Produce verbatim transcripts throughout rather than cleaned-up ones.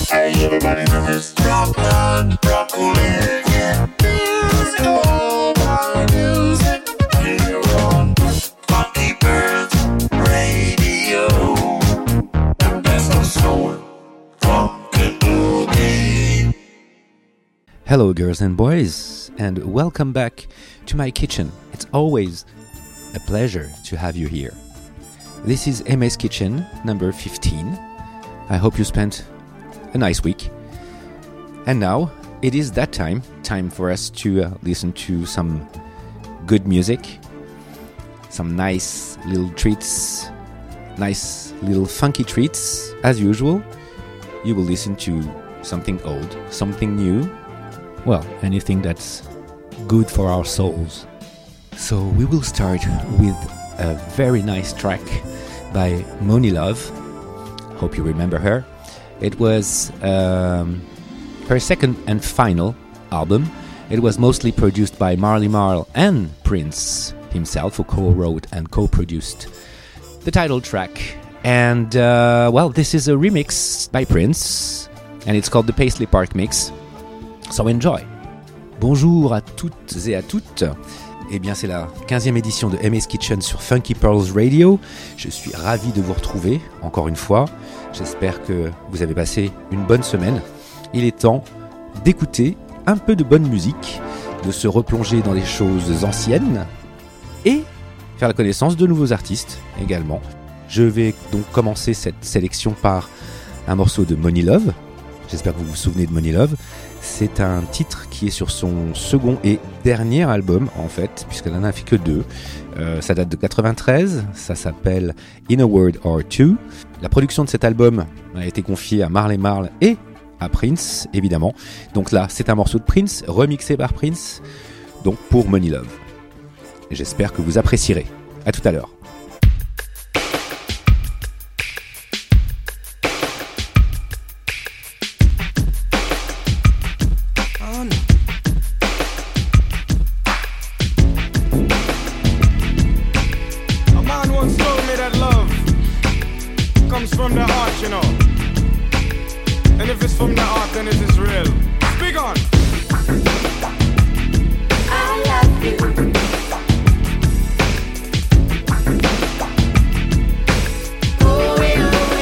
Hey, everybody knows Rockland, Broccoli, yeah. Here's all my music here on Funky Pearls Radio. The best of soul, funk and boogie. Hello, girls and boys, and welcome back to my kitchen. It's always a pleasure to have you here. This is M S Kitchen number fifteen. I hope you spent a nice week. And now it is that time, time for us to uh, listen to some good music, some nice little treats, nice little funky treats. As usual, you will listen to something old, something new, well, anything that's good for our souls. So we will start with a very nice track by Monie Love. Hope you remember her. It was um, her second and final album. It was mostly produced by Marley Marl and Prince himself, who co-wrote and co-produced the title track. And, uh, well, this is a remix by Prince, and it's called the Paisley Park Mix. So enjoy. Bonjour à toutes et à toutes. Eh bien, c'est la quinzième édition de M S Kitchen sur Funky Pearls Radio. Je suis ravi de vous retrouver, encore une fois. J'espère que vous avez passé une bonne semaine. Il est temps d'écouter un peu de bonne musique, de se replonger dans les choses anciennes et faire la connaissance de nouveaux artistes également. Je vais donc commencer cette sélection par un morceau de Monie Love. J'espère que vous vous souvenez de Monie Love. C'est un titre qui est sur son second et dernier album, en fait, puisqu'elle n'en a fait que deux. Euh, ça date de quatre-vingt-treize, ça s'appelle In a Word or Two. La production de cet album a été confiée à Marley Marl et à Prince, évidemment. Donc là, c'est un morceau de Prince, remixé par Prince, donc pour Monie Love. J'espère que vous apprécierez. À tout à l'heure. From the heart, you know. And if it's from the heart, then it is real. Speak on. I love you. Oh, yeah, oh,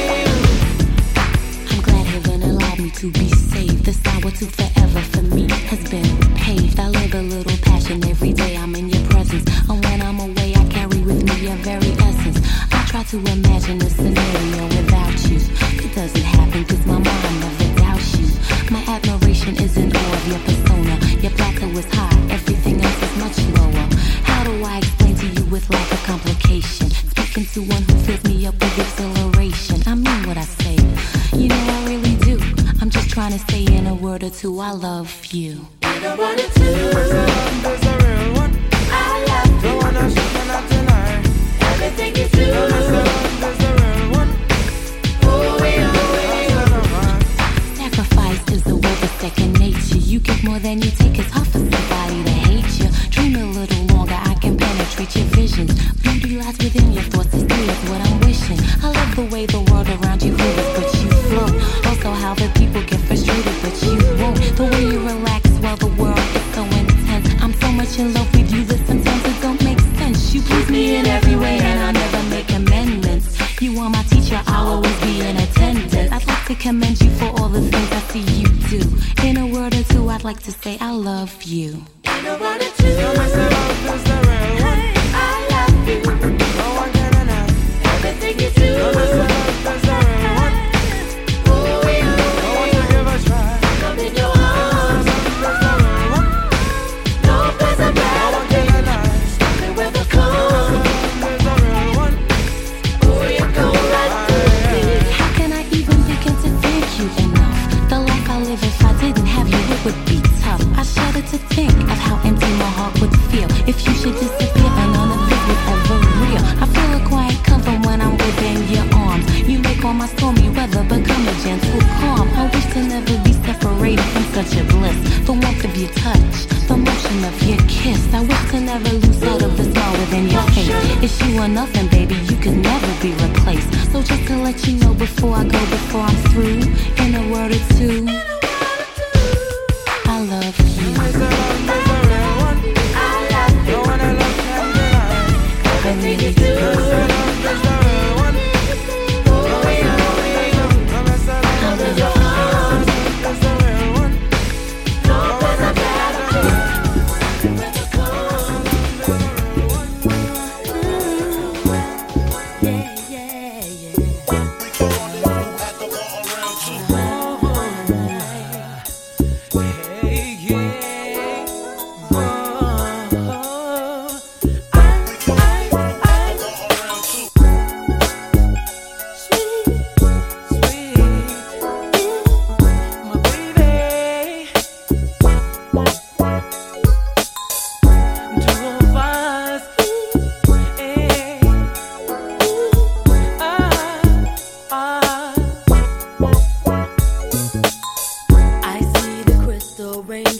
yeah. I'm glad heaven allowed me to be saved. This hour to forever for me has been paved. I live a little passion every day. I'm in your presence. And when I'm away, I carry with me your very essence. I try to imagine a scenario without you. It doesn't happen cause my mind never doubts you. My admiration is in awe of your persona. Your plateau is high, everything else is much lower. How do I explain to you with lack of complication? Speaking to one who fills me up with exhilaration. I mean what I say, you know I really do. I'm just trying to say in a word or two, I love you. In a word or two, There's a real one. I love you. The one I should not deny. Everything you do, There's a, there's a real one. oh, yeah, oh, yeah. Sacrifice is a word of second nature. You give more than you take. It's hard for somebody to hate you. Dream a little longer, I can penetrate your visions. Beauty lies within your thoughts, it's clear, it's what I'm wishing. I love the way the world around you quivers, but you float. Also how the people get frustrated, but you won't. The way you relax while the world is so intense. I'm so much in love with you that sometimes it don't make sense. You please me in every way and I'll never make amendments. You are my teacher, I'll always be in attendance. I'd like to commend you for all the things I see you do. In a word or two, I'd like to say I love you. In a word or two, Tell me, say love is the real one. I love you. No one can deny. Everything you do, Tell me, say love is the real one. oh, yeah, No one to give a try. come in your arms. Love is the real one. No place I'd No rather one can deny. be. Stop me with a call. Love is the real one. Oh, you go right through me. How can I even begin to thank you enough? The life I live, if I didn't have you, it would be tough. I shudder to think of how empty my heart would feel if you should disappear and none of it was ever real. I feel a quiet comfort when I'm within your arms. You make all my stormy weather become a gentle calm. I wish to never be separated from such a bliss. The warmth of your touch, the motion of your kiss. I wish to never lose sight of the smile within your face. It's you or nothing, baby, you could never be replaced. So just to let you know before I go, before I'm through, in a word or two,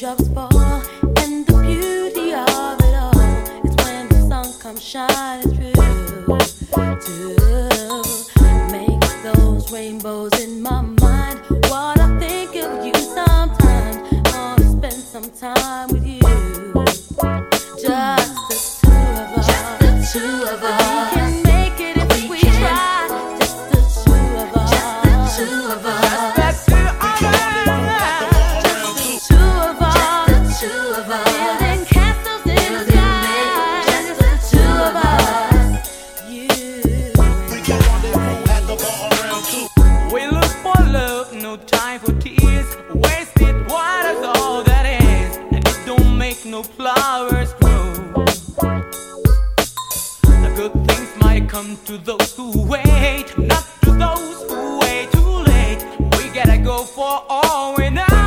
raindrops fall, and the beauty of it all is when the sun comes shining through to make those rainbows in my mind. What I think of you sometimes, wanna spend some time with you. Just the two of us, just the two of us. We can make it if we, we try. Just the two of us, just the two of us. Just the two of us. Just the two of us. Just the two of us. Building castles in the sky. Just the two of us. You and I. We look for love, no time for tears. Wasted water's all that is, and it don't make no flowers grow. The good things might come to those who wait, not to those who wait too late. We gotta go for all we know.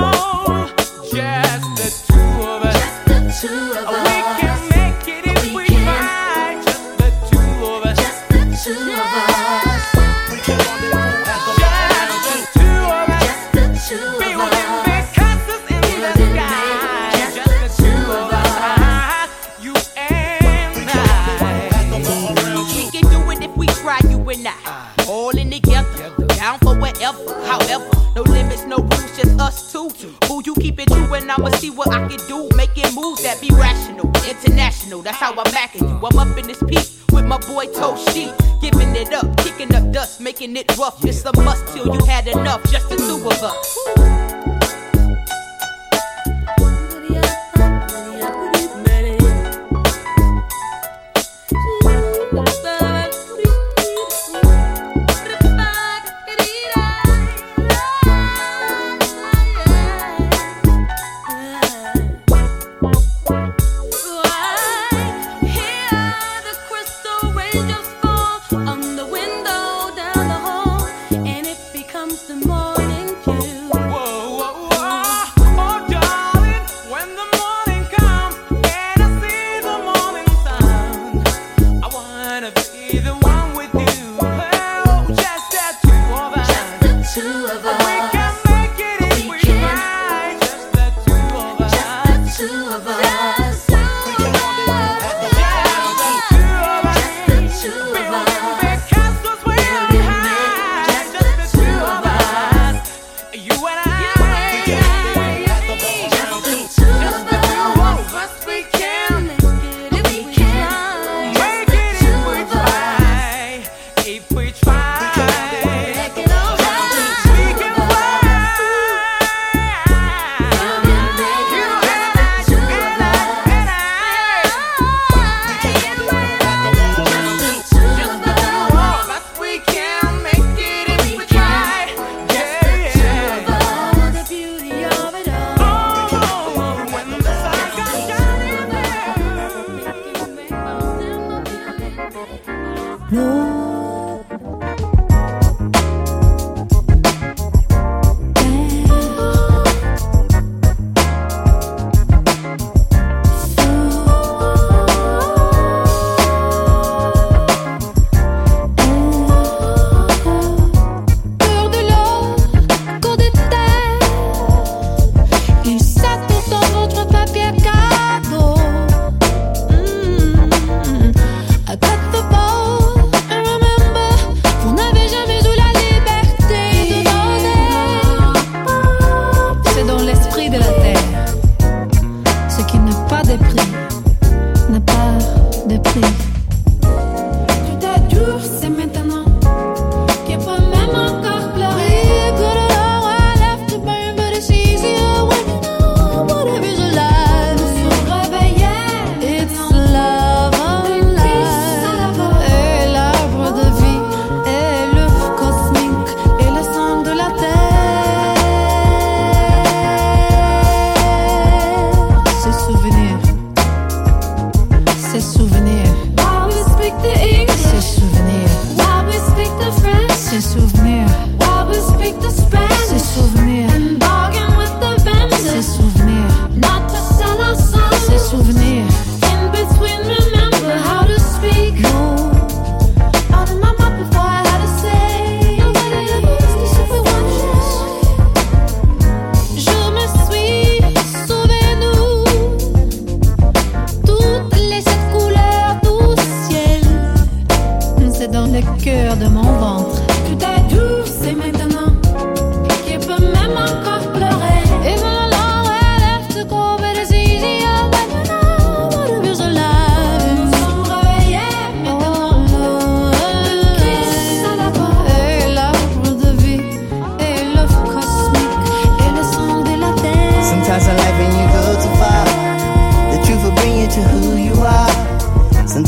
Just the two of us. Just the two of us. We can make it if we, we try. Just the two of us. Just the two of us. Just the two of us. Just the two of us. Building big castles in the sky. Just the two of us. You and I. We can do it if we try, you and I. All in together, down for whatever, however. No limits, no rules, just us two. Who you keep it true, and I'ma see what I can do. Making moves that be rational, international. That's how I'm backing you. I'm up in this piece with my boy Toe Sheet. Giving it up, kicking up dust, making it rough. It's a must till you had enough, just the two of us.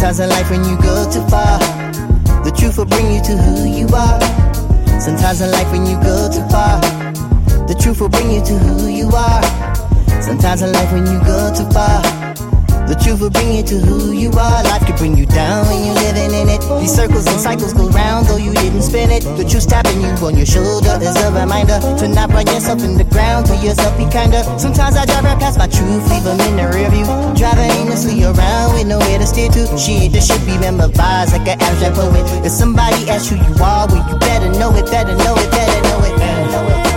Sometimes in life when you go too far, the truth will bring you to who you are. Sometimes in life when you go too far, the truth will bring you to who you are. Sometimes in life when you go too far, the truth will bring you to who you are. Life could bring you down when you're living in it. These circles and cycles go round though you didn't spin it. The truth tapping you on your shoulder is a reminder to not run yourself in the ground. To yourself be kinder. Sometimes I drive right past my truth, leave them in the rear view. Driving aimlessly around with nowhere to steer to. Shit, this should be memorized like an abstract poet. If somebody asks who you are, well you better know it, better know it, better know it, better know it.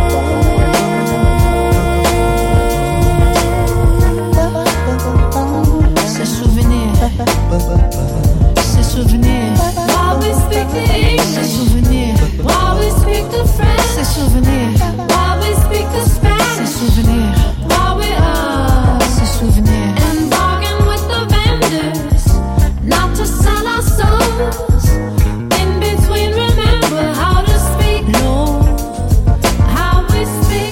Ces souvenirs. While we speak the English. Ces souvenirs. While we speak the French. Ces souvenirs. While we speak the Spanish. Ces souvenirs. While we are. Ces souvenirs. And bargain with the vendors, not to sell our souls. In between, remember how to speak. Lord, how we speak.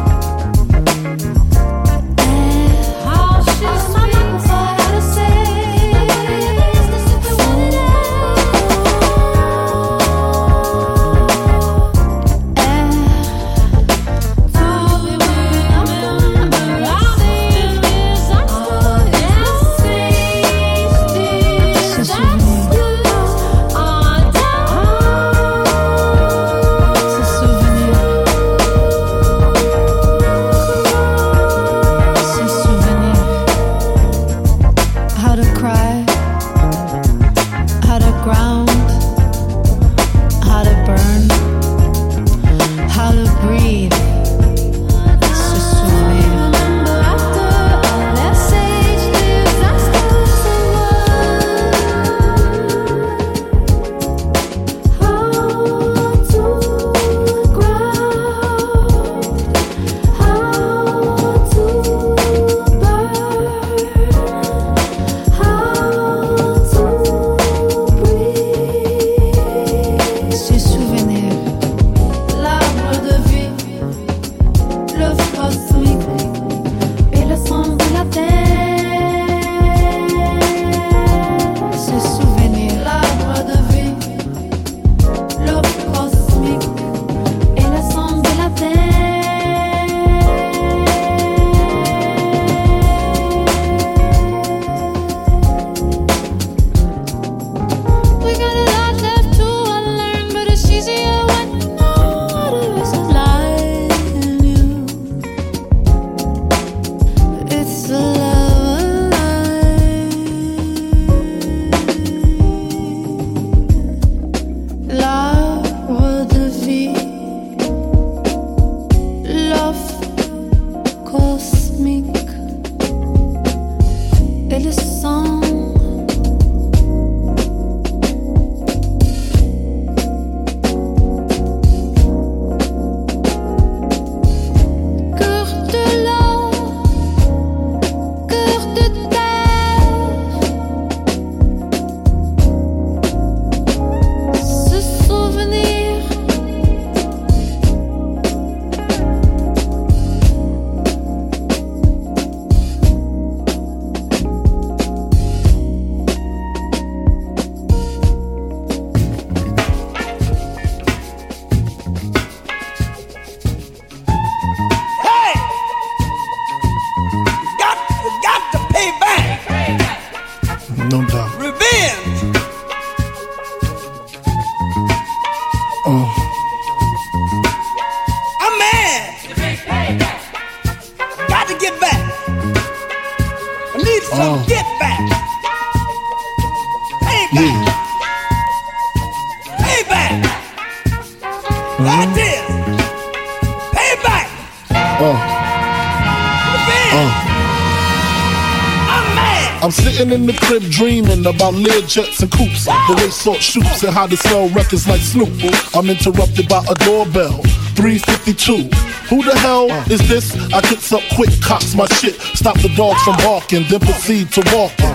And how she speaks. How to say. I'm sitting in the crib dreaming about Learjets and coupes, the way salt shoots and how to sell records like Snoop. I'm interrupted by a doorbell, three fifty-two. Who the hell is this? I gets up quick, cocks my shit, stop the dogs from barking, then proceed to walking.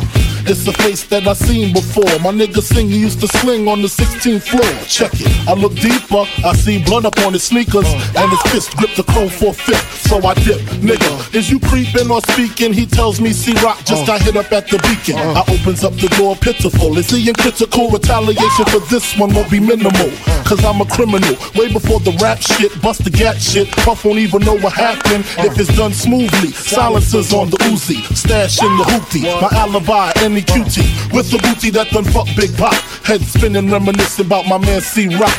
It's a face that I seen before. My nigga sing, he used to sling on the sixteenth floor. Check it, I look deeper, I see blood up on his sneakers, and his fist gripped the chrome for a fifth. So I dip, nigga, is you creeping or speaking? He tells me C-Rock just got hit up at the Beacon. I opens up the door pitiful. Is he in critical? Retaliation for this one won't be minimal, cause I'm a criminal. Way before the rap shit, bust the gat shit. Puff won't even know what happened if it's done smoothly. Silencers on the Uzi, stash in the hoopty. My alibi, any cutie, with the booty that done fuck Big Pop. Head spinning, reminiscing about my man C-Rock.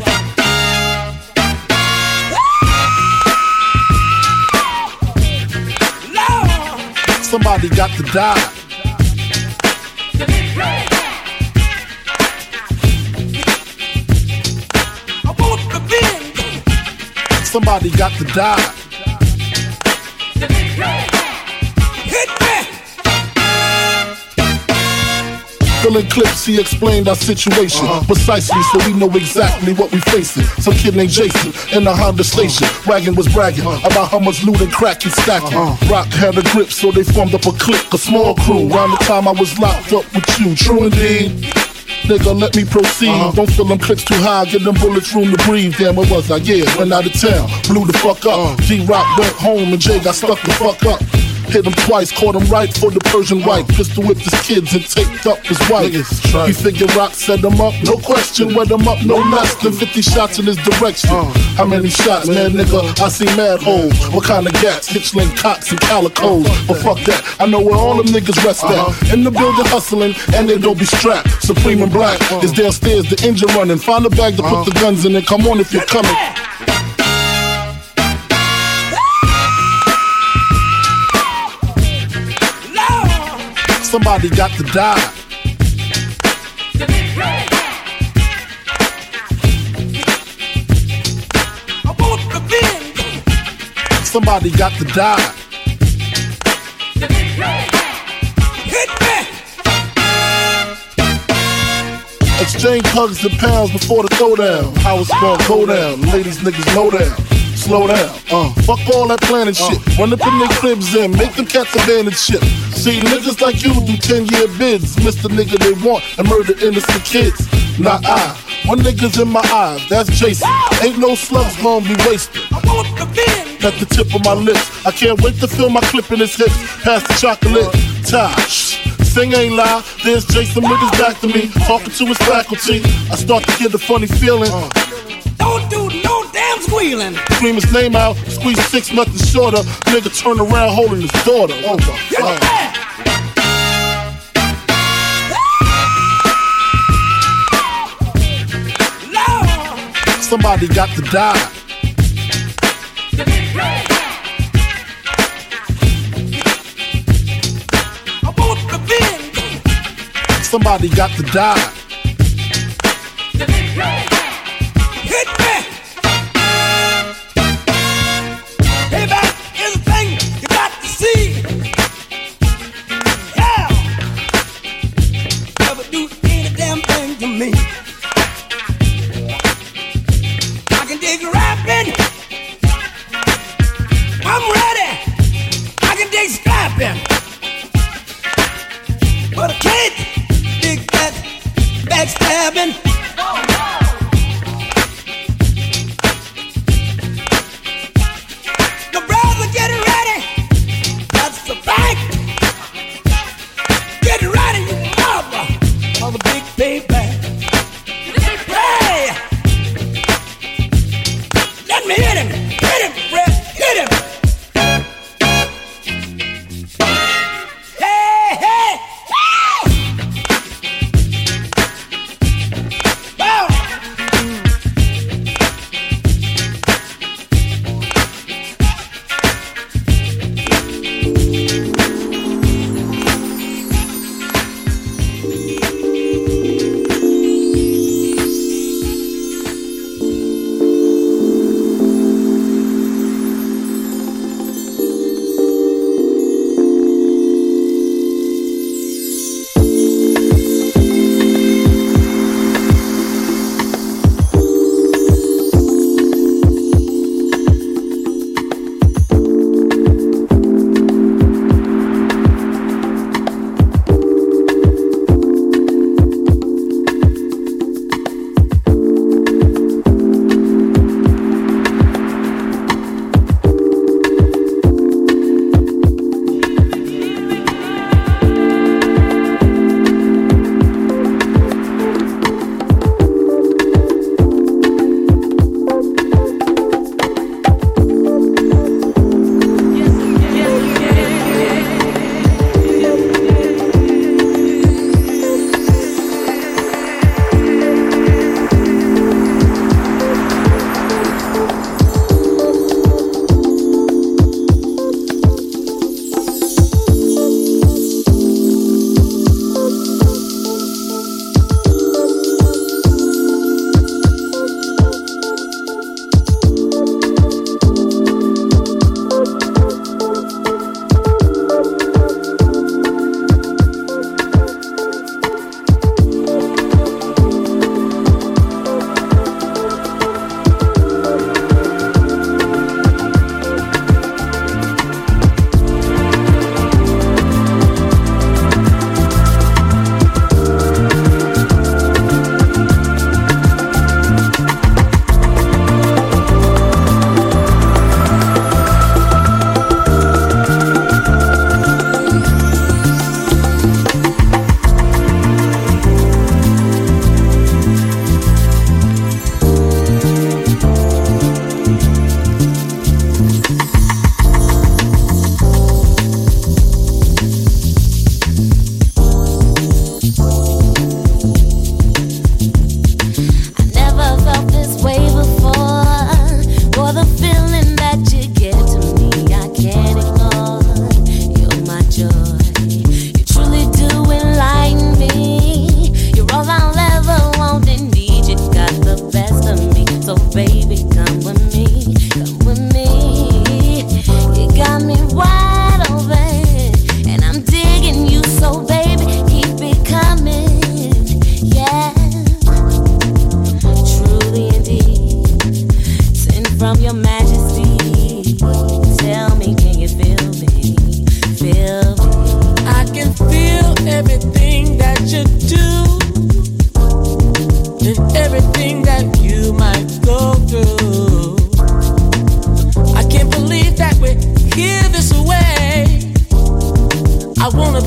Somebody got to die. I want revenge. Somebody got to die. Hit me. Filling clips, he explained our situation uh-huh. precisely, so we know exactly what we facing. Some kid named Jason in the Honda station. Wagon was bragging uh-huh. about how much loot and crack he's stacking. Uh-huh. Rock had a grip, so they formed up a clique, a small crew. Around the time I was locked up with you, true indeed. Nigga, let me proceed. Uh-huh. Don't fill them clicks too high, get them bullets room to breathe. Damn, where was I? Yeah, went out of town, blew the fuck up. Uh-huh. D-Rock went home and Jay got stuck the fuck up. Hit him twice, caught him right for the Persian white. Pistol whipped his kids and taped up his wife. He figured Rock set him up, no question. Wet him up, no less than fifty shots in his direction. How many shots, man, nigga? I see mad holes. What kind of gats? Hitchling, cocks, and calicos. But fuck that, I know where all them niggas rest at. In the building hustling, and they don't be strapped. Supreme and Black is downstairs, the engine running. Find a bag to put the guns in and come on if you're coming. Somebody got to die. I want revenge. Somebody got to die. Hit me. Exchange hugs and pounds before the throwdown. How it's gonna go down. Ladies, niggas, know down. Slow down, uh, fuck all that planning shit. Run up in their cribs and make them cats abandon shit. See, niggas like you do ten year bids. Mister nigga they want and murder innocent kids. Not I, one nigga's in my eyes, that's Jason. Ain't no slugs gonna be wasted. I want the bin at the tip of my lips. I can't wait to feel my clip in his hips. Pass the chocolate, Tosh. Sing ain't lie, there's Jason with his back to me, talking to his faculty. I start to get a funny feeling. Don't do no damn squealing. Scream his name out, squeeze six, nothing shorter. Nigga turn around holding his daughter. Oh my God. Somebody got to die. I want revenge. Somebody got to die. Hit me! Payback is a thing you got to see. Yeah! Never do any damn thing to me. I can dig rapping. I'm ready. I can dig scrapping. But I can't dig that backstabbing.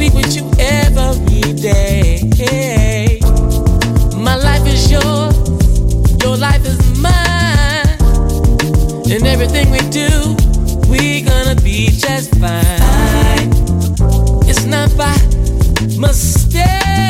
be with you every day. My life is yours, your life is mine. And everything we do, we gonna be just fine. It's not by mistake.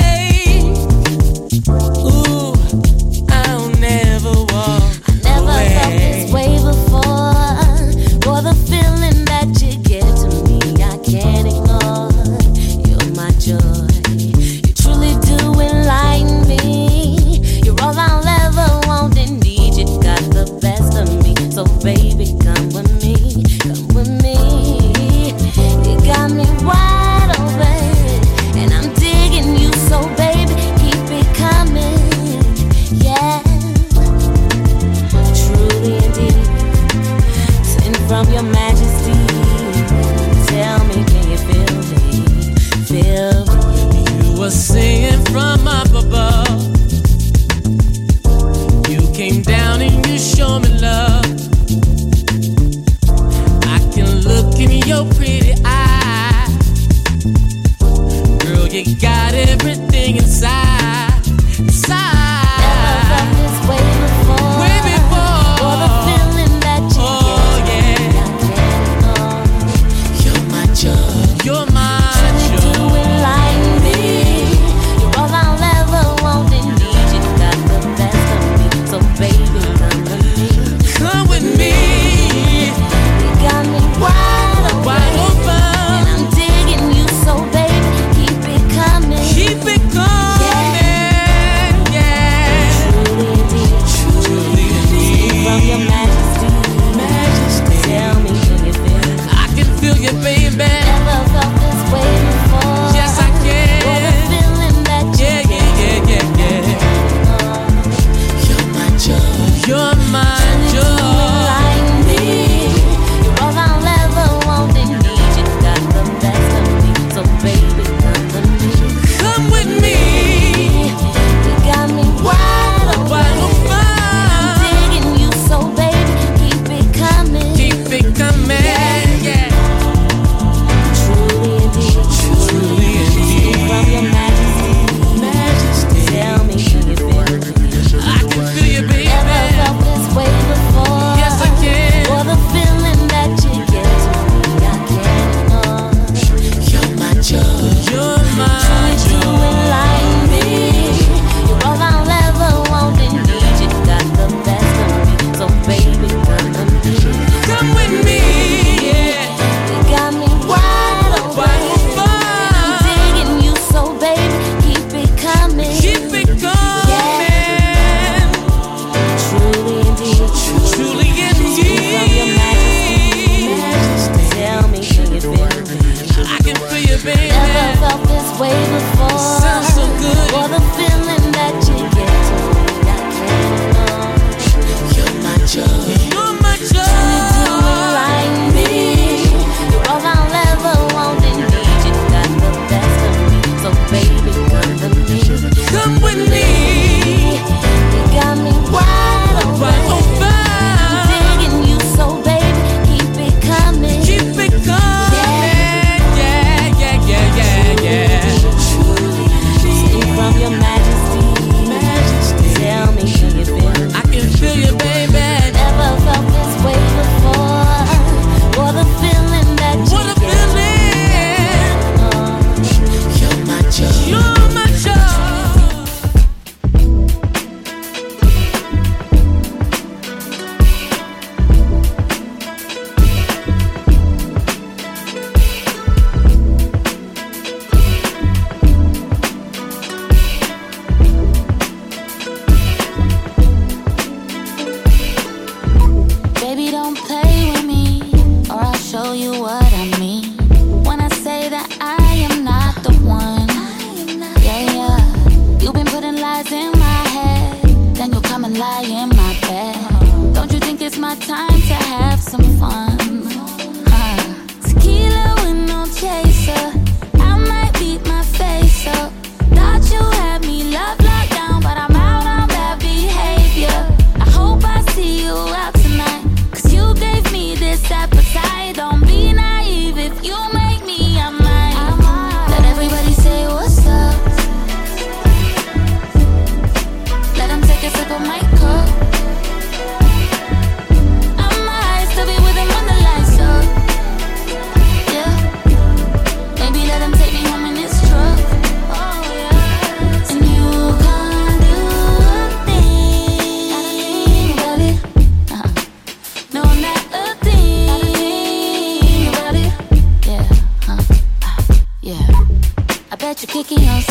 Ooh, I'll never walk I never away. felt this way before. For the feeling that you give to me, I can't ignore. You're my joy. You truly do enlighten me. You're all I'll ever want and need. You got the best of me. So baby, come with me. Come with me. You got me wide open. And I'm digging you, so baby, keep it coming. Yeah. Truly indeed. Sent from your majesty. Tell me, can you feel me? Feel me. You were singing from up above. You came down and you showed me love. I can look in your pretty eyes. Girl, you got everything inside. Inside. Never felt this way before. Way before. For the feeling that you Oh, give me, yeah. I can't ignore. You're my joy. You're my You do joy. enlighten me. You're all I'll ever want and need. You got the best of me. So baby, come with me. Come with me. You got me wide open. Wide open. And I'm digging you, so baby, keep it coming. Keep it coming. Yeah. Truly indeed. Truly indeed. From your majesty. Majesty. Tell me, can you feel me? I can feel you, baby. Never felt this way before. Yes, I For the can. feeling that you Yeah, yeah, yeah, yeah, yeah. You're my joy. You're my joy. enlighten me. You're all I'll ever want and need. You got the best of me. So baby, come with me. Come with me. You got me wide open. Wide open. I'm digging you, so baby, keep it coming. Keep it coming. Yeah. Truly indeed. Truly indeed. From your majesty. Majesty. Tell me, can you feel me? I can feel you, baby. Never felt this way before. Yes, I can. For the feeling that you give to me, I can't ignore. You're my joy. You're my You joy. enlighten me. You're all I'll ever want and need. You got the best of me. So baby, come with me. Come with me. Yeah. You got me wide open. Wide open. I'm digging you, so baby, keep it coming. Keep it coming. Truly indeed. Truly From your majesty. indeed. Tell me, can you feel me? I can feel you, baby. Never felt this way before. Sounds so good. For the feeling that you give to me, I can't ignore. You're my joy. You're my You joy. enlighten me. You're all I'll ever want and need. You got the best of me. So baby, come with me. Come with me. You got me wide open. Wide open. I'm digging you, so baby, keep it coming. Keep it coming. Yeah, yeah, yeah, yeah, yeah. Sing from your majesty. Majesty. Tell me, can you feel me? I can feel you, baby. Never felt this way before. For the feeling that you What a give feeling. me. You're my joy. You're my joy. Baby, don't play with me, or I'll show you what I mean. When I say that I am not the one. Yeah, yeah. You've been putting lies in my head, then you'll come and lie in my bed. Don't you think it's my time to have some fun? Huh. Tequila with no chaser, I might beat my face up. Thought you had me love locked down, but I'm out on bad behavior. I hope I see you out tonight, 'cause you gave me this appetite. Don't be naive, if you make me, I might. Let everybody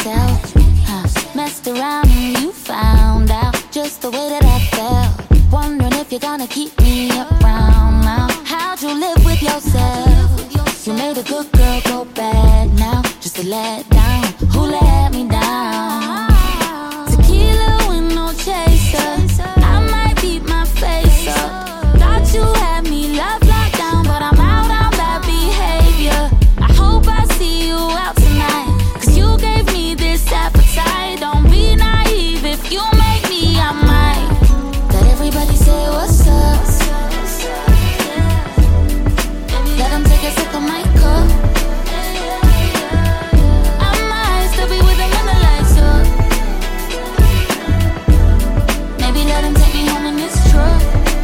yourself. Huh. Messed around and you found out just the way that I felt. Wondering if you're gonna keep me around now. How'd you live with yourself? You made a good girl go bad now. Just to let down. Who let me down? Tequila with no chaser. I might beat my face up. Thought you had me love locked down, but I'm out on bad behavior. I hope I see you out tonight, cause you gave me this appetite. Don't be naive, if you make me, I might. Let everybody say what's up. Let them take a sip of my cup. I might still be with them when the lights up. Maybe let them take me home in this truck.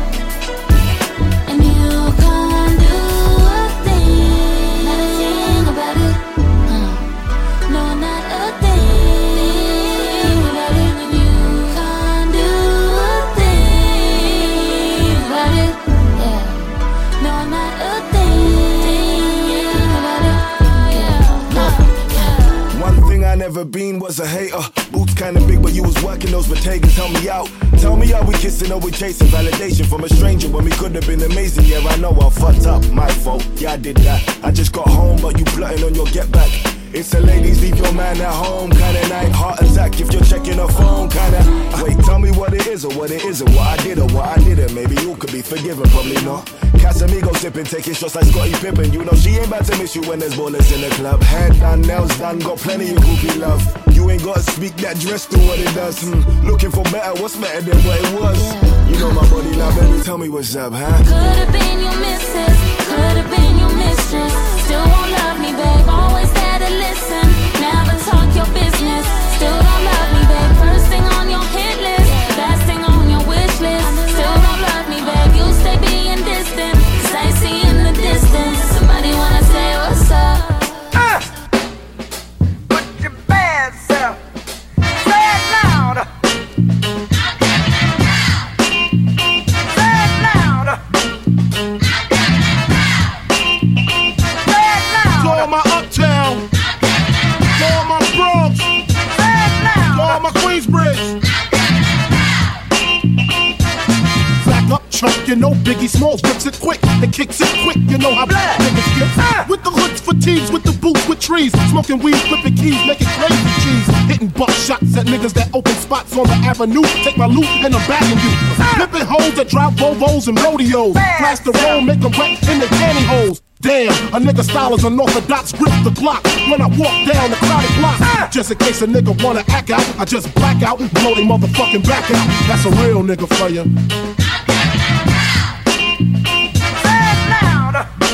And you can't do a thing, not a thing about it. uh, No, not a thing about it. And you can't do a thing about it. Yeah. No, not a thing about it. Yeah. No. One thing I never been was a hater. Boots kinda big, but you was working those bodegas. Help me out. Tell me, are we kissing or we chasing validation from a stranger when we could have been amazing? Yeah, I know I fucked up, my fault. Yeah, I did that. I just got home, but you plotting on your get back. It's a ladies, leave your man at home kinda night. Heart attack if you're checking her phone kinda. Wait, tell me what it is or what it isn't. What I did or what I didn't. Maybe you could be forgiven, probably not. Casamigo sipping, taking shots like Scottie Pippen. You know she ain't about to miss you when there's ballers in the club. Hair done, nails done, got plenty of groupie love. You ain't gotta speak that dress to what it does. Hmm. Looking for better, what's better than what it was? You know my body now, baby, tell me what's up, huh? Could've been your missus, could've been your mistress. Still won't love me, babe, always there to listen. Never talk your business, still don't love me, babe. First thing on your hit list, last thing on your wish list. Still don't love me, babe, you stay being distant, cause I see in the distance. Somebody wanna say what's up. Uh, put your bad self, say it loud. Say it loud. Say it loud. To all my uptown, to all my Bronx, Say it loud. to all my Queensbridge. Back up, chunk, you know Biggie Smalls rips it quick and kicks it quick. You know how black niggas get. With the hoods, fatigues, with the boots, with trees, smoking weed, flipping keys, making crazy cheese, hitting buck shots at niggas that open spots on the avenue. Take my loot and I'm bagging you. Flipping hoes that drive Volvos and rodeos. Blast the roll, make them wet in their pantyhose. Damn, a nigga style is unorthodox, grip the clock when I walk down the crowded block. Just in case a nigga wanna act out, I just black out and blow they motherfucking back out. That's a real nigga for ya. Say it loud.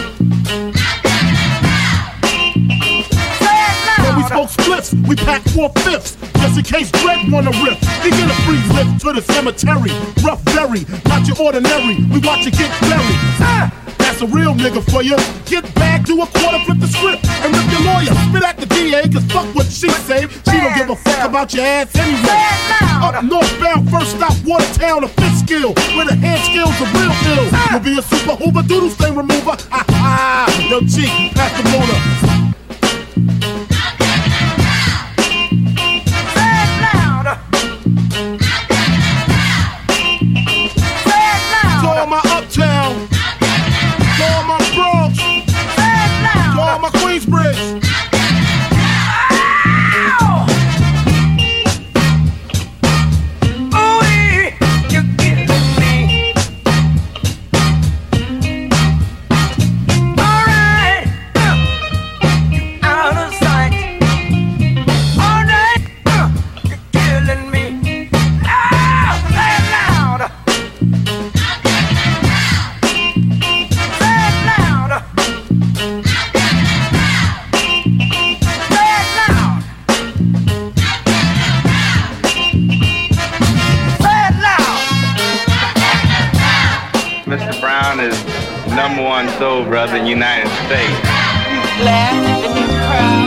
Say it When we loud. smoke spliffs, we pack four fifths. Just in case Dredd wanna rip, he get a free lift to the cemetery. Rough berry, not your ordinary. We watch it get buried. Uh, That's a real nigga for you. Get back, do a quarter, flip the script, and rip your lawyer. Spit at the D A, cause fuck what she say. She don't give a fuck about your ass anyway. Say it loud. Up northbound, first stop, Watertown, a fifth skill. Where the hand skills are real ill. You'll be a super hoover, doodle stain remover. Ha ha, yo G, pass the motor. Say it loud. Say it To all loud. my uptown, to all my Bronx, Say it to all loud. my Queensbridge. Ooh, you're killing me. All right, uh, out of sight. All night, uh, you're killing me. Ah, say it loud. Say it loud. Say it loud. Say it loud. Mister Brown is number one soul brother in the United States. Laugh and you proud.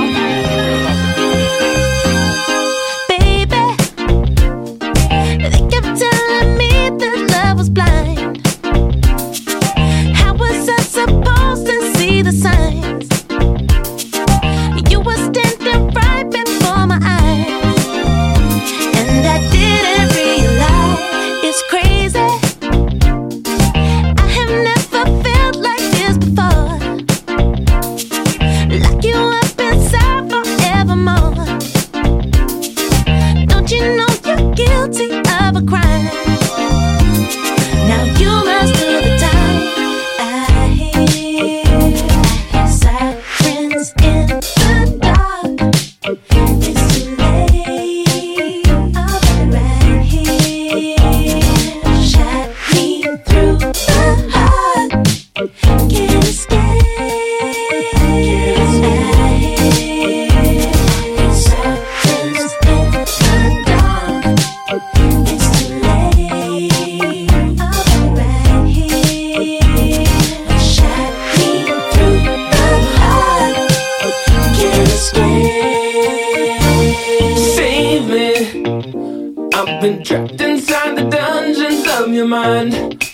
Baby, they kept telling me that love was blind. How was I supposed to see the signs? You were standing right before my eyes. been trapped inside the dungeons of your mind,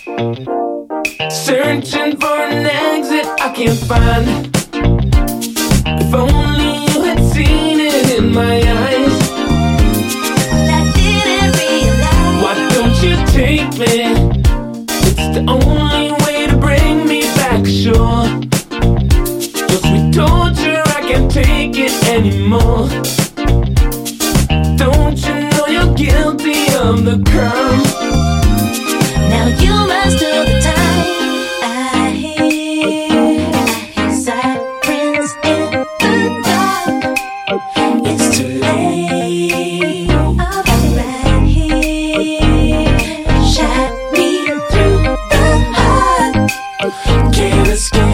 searching for an exit I can't find. If only you had seen it in my eyes. I didn't realize. Why don't you take me? It's the only way to bring me back ashore. Your sweet torture, I can't take it anymore. Don't you know you're guilty of the crime? Now you must do the time. I hear, I hear sirens in the dark. It's too late. I'll be right here. Shot me through the heart. Can't escape.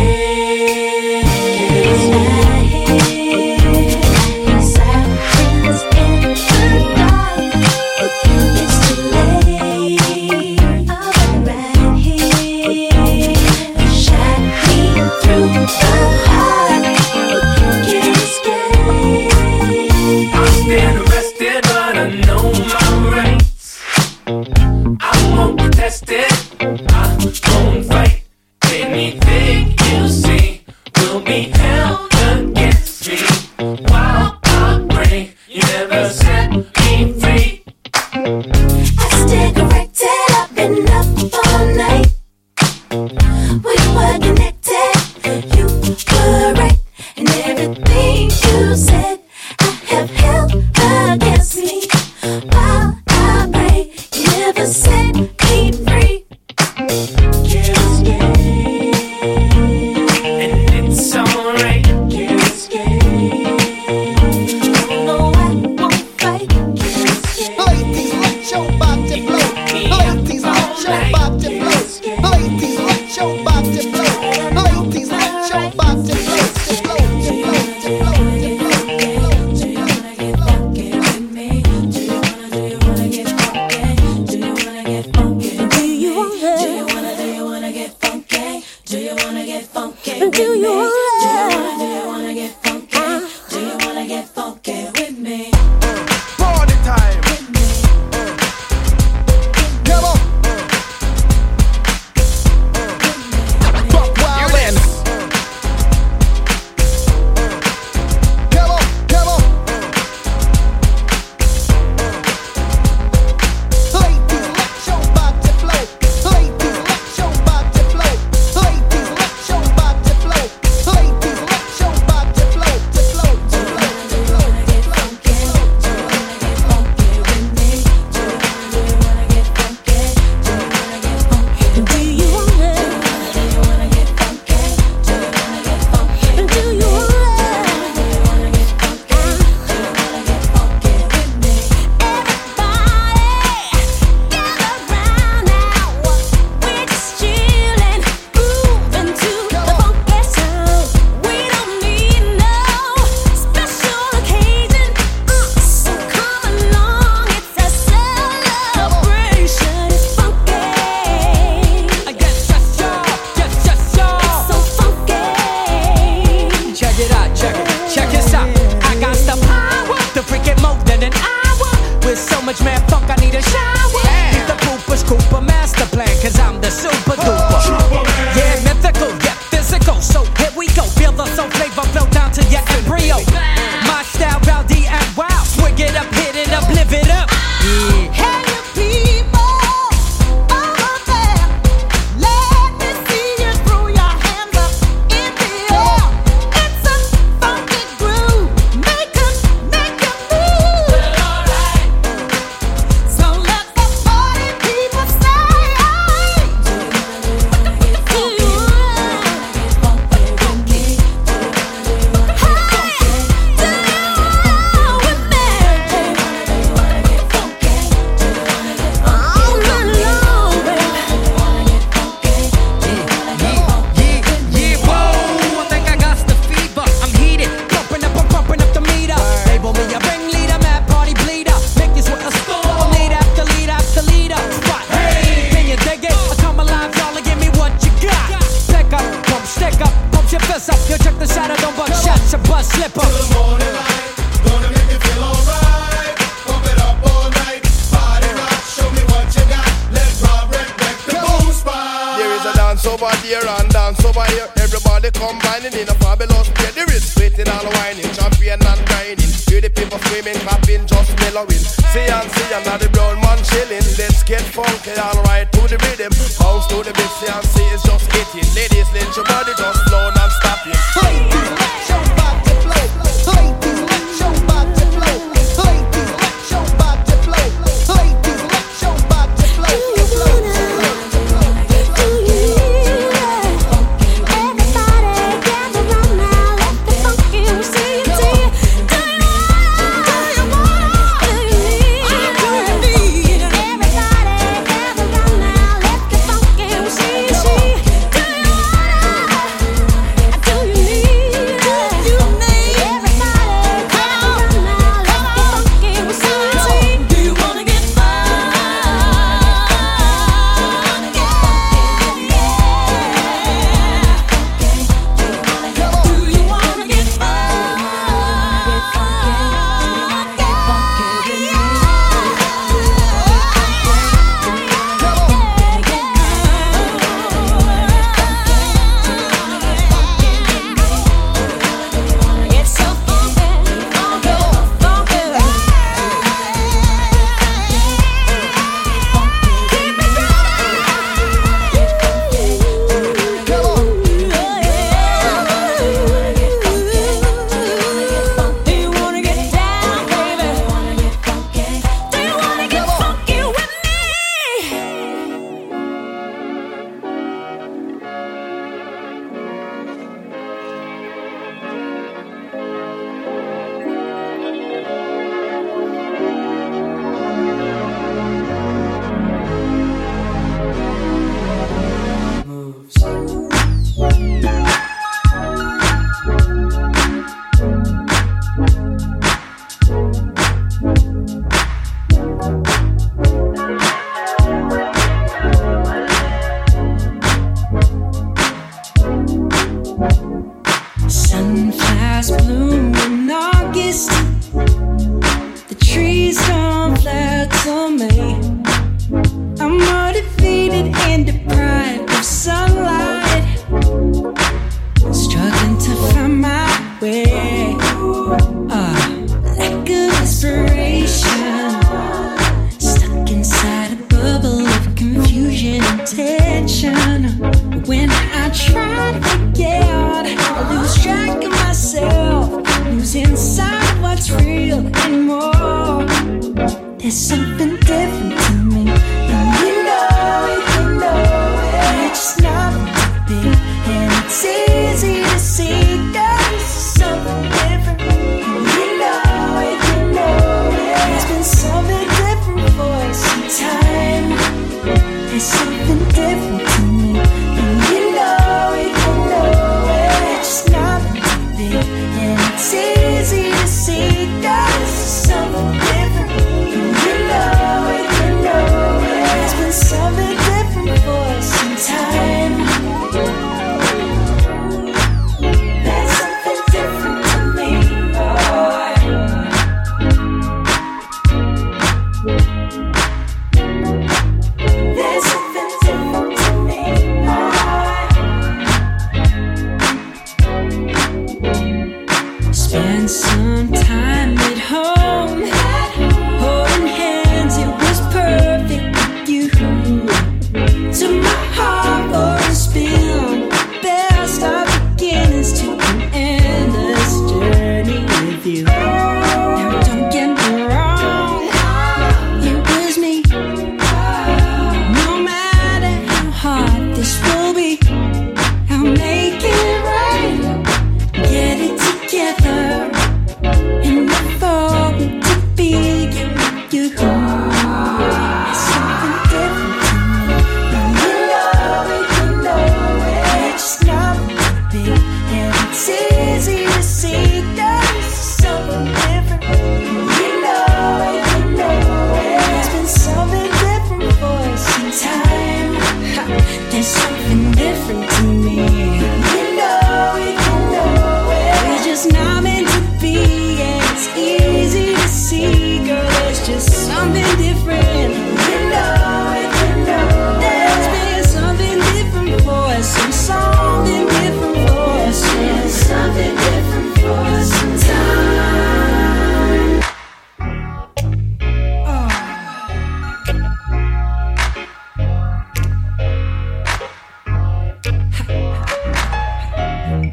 I hear, I hear sirens in the dark. It's too late. I'll be right here. Shot me through the heart. Can't escape. I've been arrested, but I know my rights. I won't protest it. I won't fight. Anything you see will be held against me. While I pray, you never set me free. I stay corrected. I've been up all night. We were connected. You were right, and everything you said I have held against me. While I pray, you never set me free. Can't escape, And it's alright. can't escape. No, I won't fight. Can't escape. Ladies, let your body flow. Ladies, let your body flow. Ladies, let your body flow. Ladies, let your body flow. Flow, flow, flow, flow, Do you wanna get funky with me? Do you wanna, do you wanna get funky? Do you wanna get funky with me? Do you wanna, do you wanna, do you wanna get funky? Do you wanna get funky with me? Do you wanna, do you wanna get funky? Do you wanna get funky with me? Party time. Come on. Fuck wild and. Come on, come on. Ladies, let your body flow. Ladies, let your body flow. Ladies, let your body flow. Everybody combining in a fabulous play. The wrist waiting and whining, champion and grinding. Hear the people screaming, clapping, just mellowing. See and see, I'm not the brown man chilling. Let's get funky, alright, to the rhythm. Bounce to the beat, see and see, it's just hitting. Ladies, let your body just flow non-stopping. Ladies, let your body flow. Ladies, let your body flow. Ladies, let your body flow. Ladies, let your body flow. See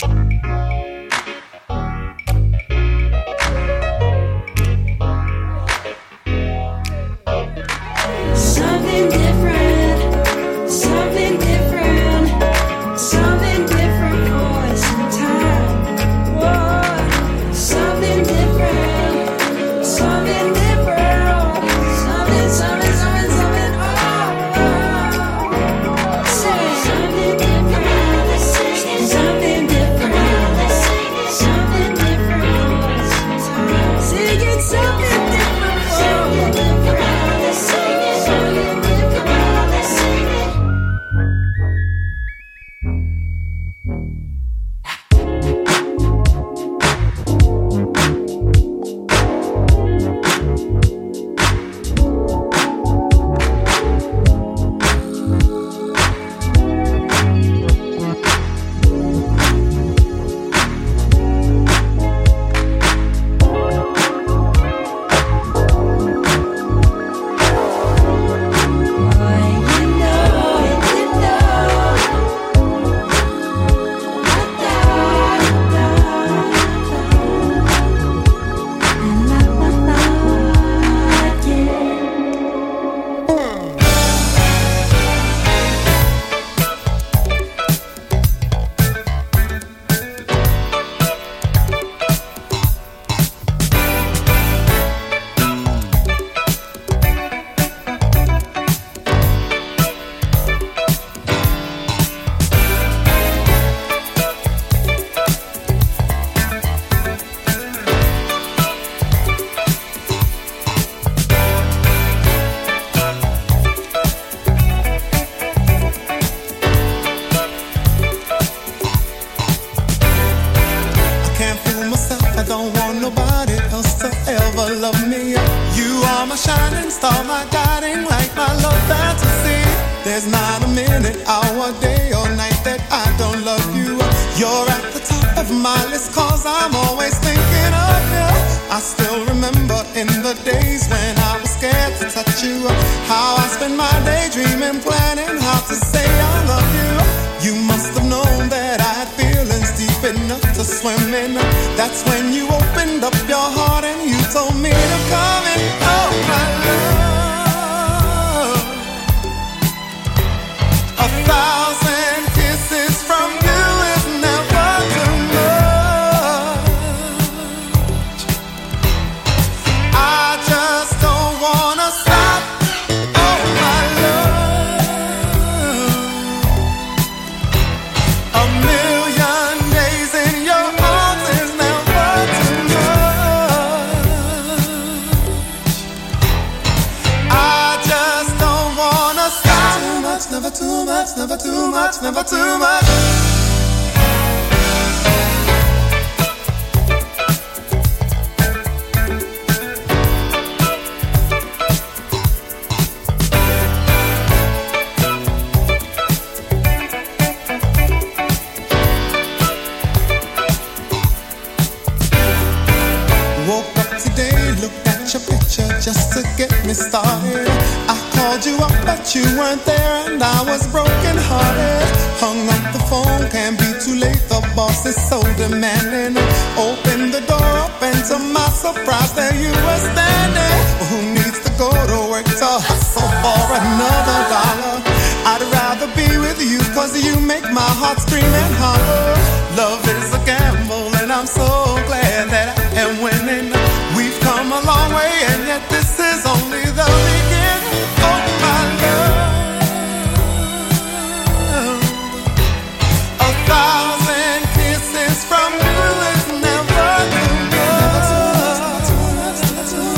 Something different, something different, something different for some time. Whoa, something different, something different, something, something, something, something. Oh, oh. Say something different, something different, something different for some time. Singing something different, something different. There's not a minute, hour, day or night that I don't love you. You're at the top of my list cause I'm always thinking of you. I still remember in the days when I was scared to touch you, how I spent my day dreaming, planning how to say I love you. You must have known that I had feelings deep enough to swim in. That's when you opened up your heart and you told me to come in. Oh my love, a thousand kisses from you is never too much. I just don't wanna stop. Oh my love, a million days in your arms is never too much. I just don't wanna stop. Too much, never too much, never too much, never too much. Woke up today, looked at your picture just to get me started. I called you up, but you weren't there, and I was broken hearted. Hung up the phone, can't be too late. The boss is so demanding. Opened the door up, and to my surprise, there you were standing. Who needs to go to work to hustle for another dollar? I'd rather be with you, cause you make my heart scream and holler. Love is a gamble, and I'm so glad that I am winning. We've come a long way, and yet this is only the beginning. Oh my love, a thousand kisses from you is never too much.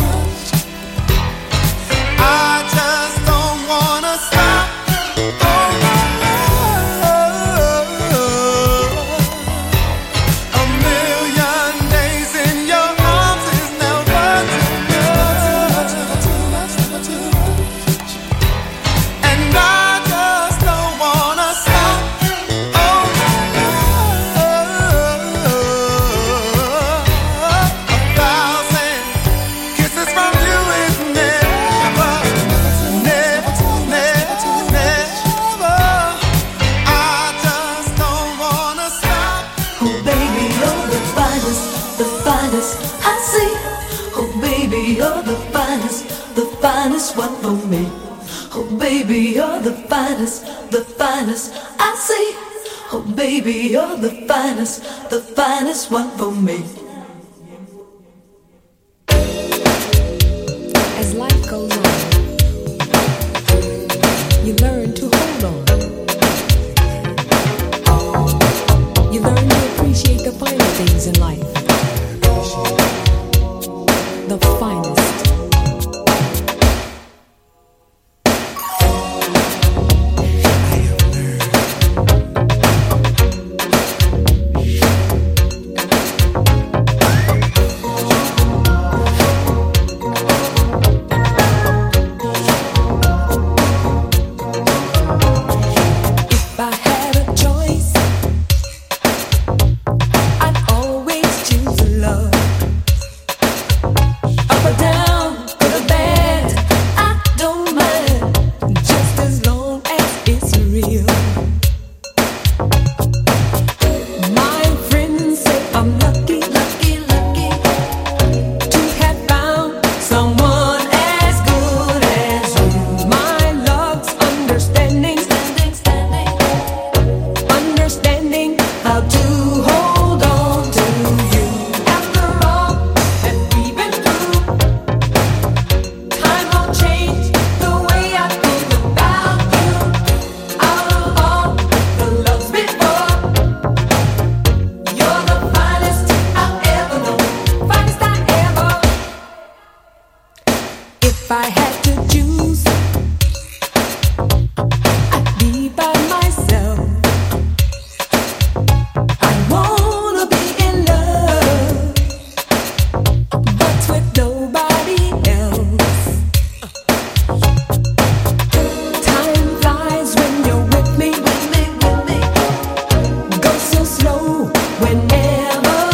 I just don't wanna stop. Oh my love, baby, you're the finest, the finest one for me. Oh baby, you're the finest, the finest I see. Oh baby, you're the finest, the finest one for me. As life goes on, you learn to hold on. You learn to appreciate the finer things in life. The finest.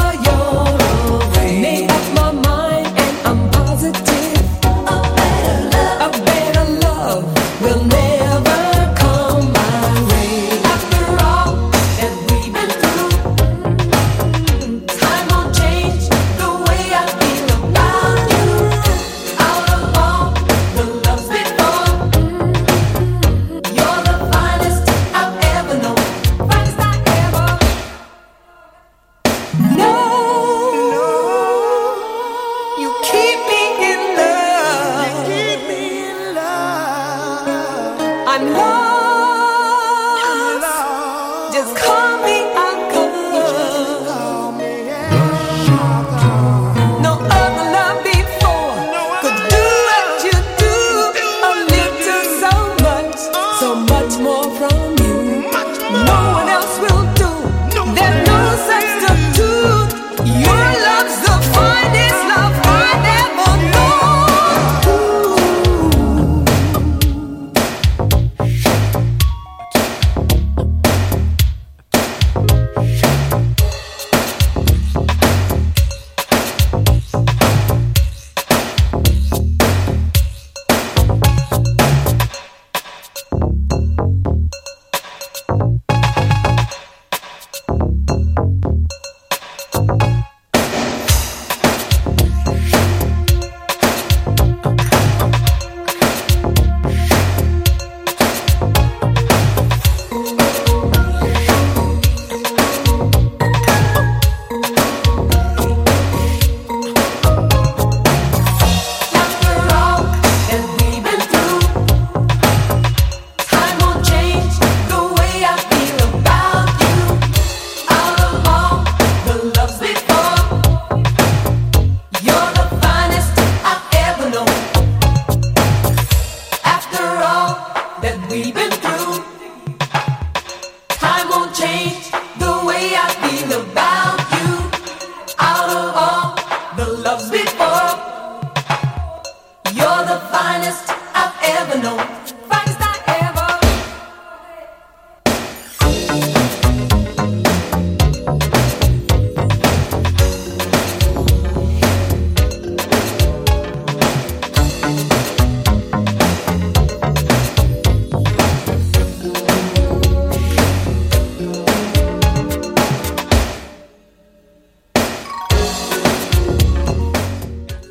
Made up my mind and I'm positive. A better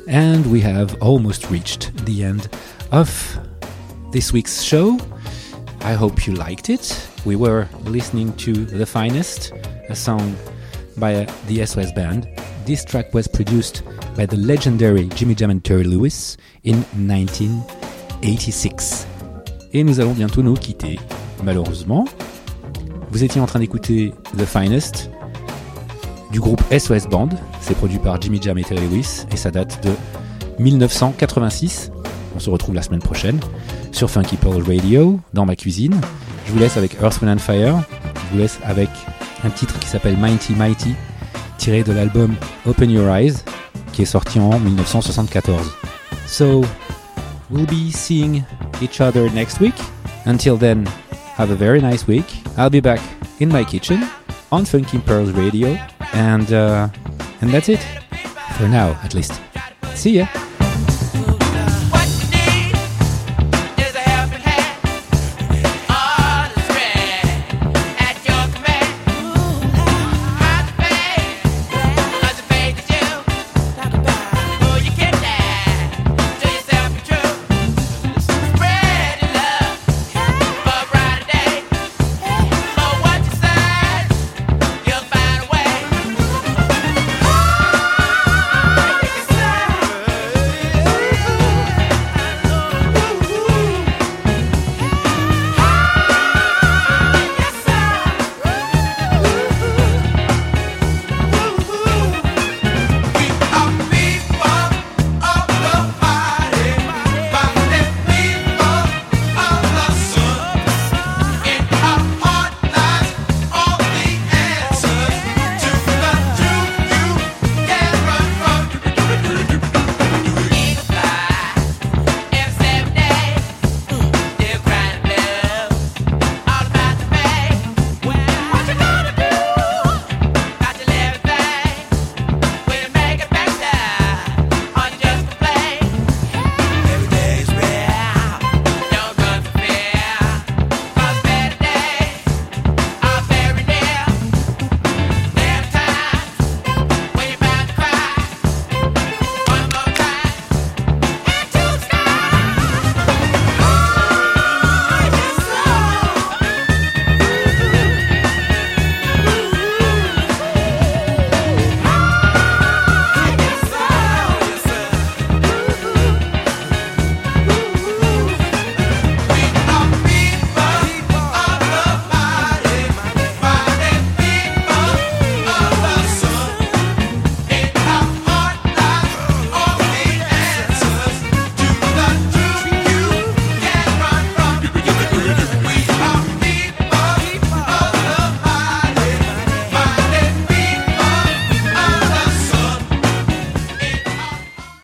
And we have almost reached the end of this week's show. I hope you liked it. We were listening to The Finest, a song by uh, the S O S Band. This track was produced by the legendary Jimmy Jam and Terry Lewis in nineteen eighty-six. Et nous allons bientôt nous quitter, malheureusement. Vous étiez en train d'écouter The Finest du groupe S O S Band. C'est produit par Jimmy Jam et Terry Lewis et ça date de dix-neuf cent quatre-vingt-six. On se retrouve la semaine prochaine sur Funky Pearl Radio, dans ma cuisine. Je vous laisse avec Earth, Wind and Fire. Je vous laisse avec un titre qui s'appelle Mighty Mighty, tiré de l'album Open Your Eyes, qui est sorti en dix-neuf cent soixante-quatorze. So, we'll be seeing each other next week. Until then, have a very nice week. I'll be back in my kitchen on Funky Pearls Radio, and uh, and that's it for now, at least. See ya.